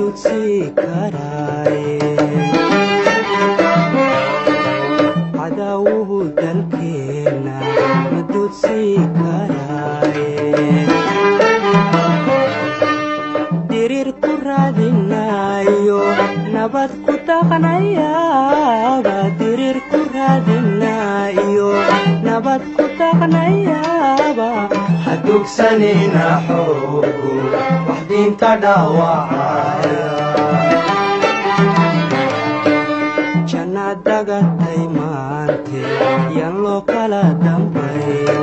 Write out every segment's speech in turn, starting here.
duudsi karaaye cadawuhu dalkeena ma duudsi karaaye dirir ku raadinayo nabad ku dhaqnayaaba dirir ku raadinayo nabad ku dhaqnayaaba hadugsanina xoogu wax diinta dhaawacaya jannadagatay maante yaan loo kala dambayn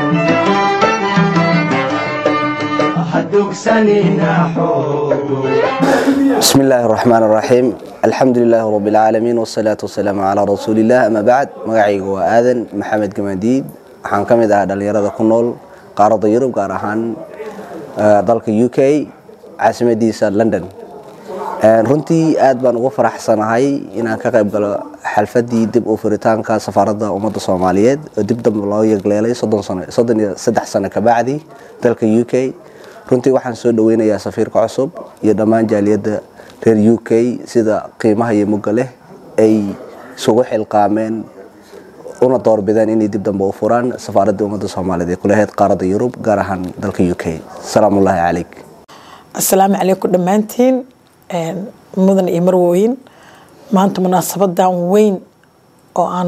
بسم الله الرحمن الرحيم الحمد لله رب العالمين والصلاة والسلام على رسول الله أما بعد مقعيق وآذن محمد قماديد waxaan ka mid ahaa dhalinyarada ku nool qaaradda Yurub gaar ahaan dalka UK caasimadiisa London runtii aad baan ugu faraxsanahay inaan ka qayb galo xalfadii dib u furitaanka safaaradda ummadda Soomaaliyeed oo dib dam loo yeegleelay 33 sano ka bacdi dalka UK runtii waxaan soo dhaweynayaa safiirka cusub iyo dhammaan jaaliyadda reer UK sida qiimaha iyo mugga leh ay sugu xilqaameen una doorbideen inay dib dambe u furaan safaaradda ummadda Soomaaliyeed ee ku leeyahay qaaradda Yurub gaar ahaan dalka UK salaamu alaykum assalaamu alaykum dhamaantiin mudan iyo marwooyin maanta munaasabadan weyn oo aan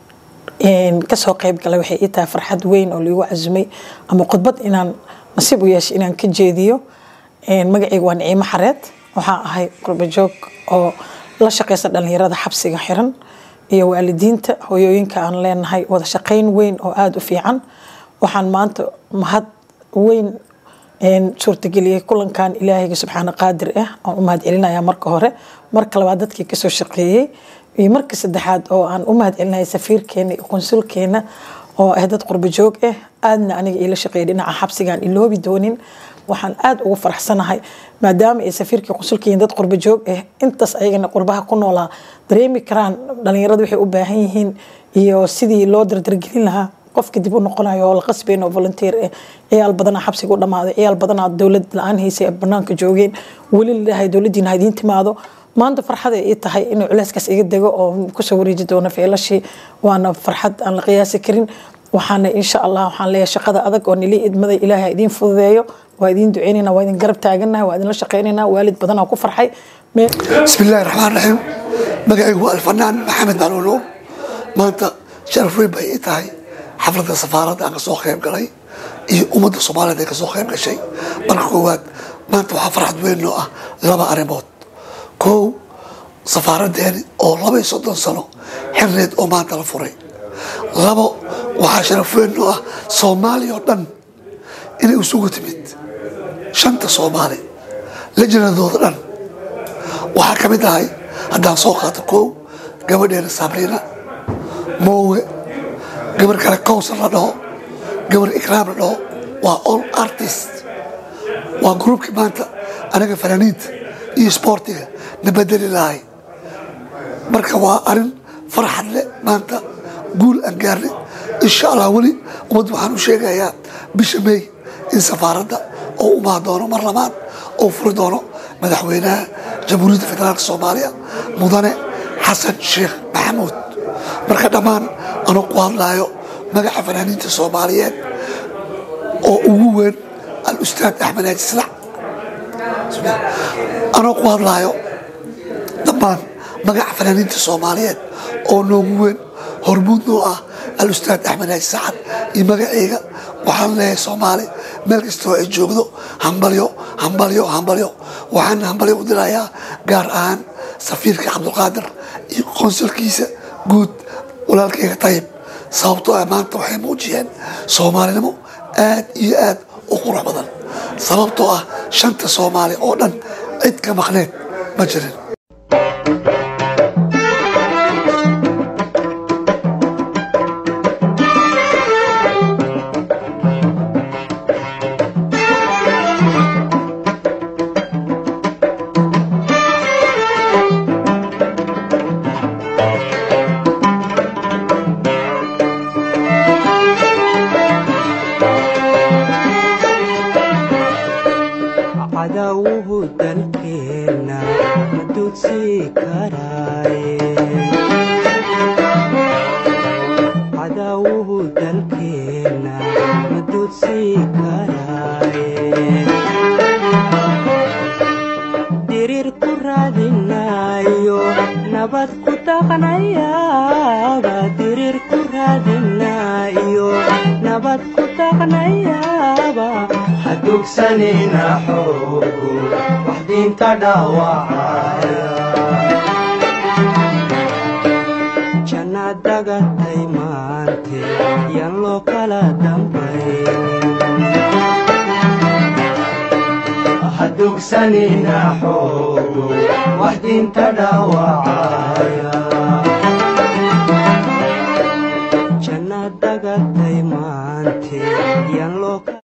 ka soo qayb galay waxay ii tahay farxad weyn oo liigu cazumay ama khudbad inaan nasiib u yeeshay inaan ka jeediyo magacaygu waa Naciimo Xareed waxaan ahay qurba joog oo la shaqeysa dhalinyarada xabsiga xiran iyo waalidiinta hooyooyinka aan leenahay wada shaqeyn weyn oo aad u fiican waxaan maanta mahad weyn suurtageliyay kulankan Ilaahay subxaanahu qaadir ah oo u mahad celinaya marka hore marka labaad dadkii ka soo shaqeeyay iyo marka saddexaad oo aan u mahad celinay safiirkeena iyo konsulkeena oo dad qurba joog ah aadna aniga ila shaqeeyay dhinaca xabsigan iloobi doonin waxaan aad ugu faraxsanahay maadaama ay safiirka konsulkiin dad qurba joog ah intaas ayagana qurbaha ku noolaa dareemi karaan dhalinyaradu waxay u baahan yihiin iyo sidii loo dardargelin lahaa qofka dib u noqonayo oo la qasbeen oo volunteer ah ciyaal badan xabsiga u dhamaaday ciyaal badan dawlad la'aan haysay banaanka joogeen wali ilaahay dawladiina idin timaado maanta farxad ay tahay inuu culeyskaas iga dago oo ku soo wareeji doono feelashii waana farxad aan la qiyaasi karin waxaana insha Allah waxaan leeyahay shaqada adag oo nili idmada Ilaahay idin fududeeyo waa idin duceynayna waa idin garab taaganahay waa idin la shaqeynayna waalid badan oo ku farxay bismillaahir rahmaanir rahiim magacaygu waa alfanaan maxamed macluun maanta sharaf weyn bay tahay xafladda safaaradda aan soo qayb galay iyo ummadda Soomaaliyeed ee ka soo qayb gashay marka koowaad maanta waxa farxad weyn oo ah laba arrimood koow safaaraddeeni oo 32 sano xirneed oo maanta la furay labo waxa sharaf weyn oo ah Soomaaliya oo dhan inay isugu timid shanta Soomaali lejanadooda dhan waxa ka mid ah haddaan soo qaato koow gabadheena Sabrina Moowe gabar kale Kawsar la dhaho gabar Ikraam la dhaho waa all artists waa groupkii maanta anaga fanaaniinta iyo sportiga nabadeli lahay marka waa arin farxad leh maanta guul aan gaarnay insha Allah wali umad waxaan u sheegayaa bisha May in safaaradda oo u baahan doono mar labaad oo furi doono madaxweynaha jamhuuriyadda federaalka Soomaaliya mudane Xasan Sheekh Maxamuud marka dhamaan anoo ku hadlayo magaca fanaaniinta Soomaaliyeed oo ugu weyn al-ustaad Axmed Naaji Salax anoo ku hadlayo dhamaan magaca fanaaniinta Soomaaliyeed oo noogu weyn hormuud noo ah al-ustaad Axmed Naaji Salax iyo magacayga waxaan leeyahay Soomaali meel kastoo ay joogdo hambalyo waxaan hambalyo u dirayaa gaar ahaan safiirka Cabdulqaadir iyo konsulkiisa guud walaalkayga Tayyib sababtoo ah maanta waxay muujiyeen Soomaalinimo aad iyo aad u qurux badan sababtoo ah shanta Soomaali oo dhan cid ka maqneed ma jirin cadawuhu dalkeena duudsii karaaye cadawuhu dalkeena ma duudsii karaaye dirir ku raadinayo nabad ku dhaqnayaaba dirir ku raadinayo nabad ku dhaqnayaaba hadugsanina xoogu wax diinta dhaawacaya jannad dagatay maante yan loo kala dambayn hadugsanina xoogu wax diinta dhaawacaya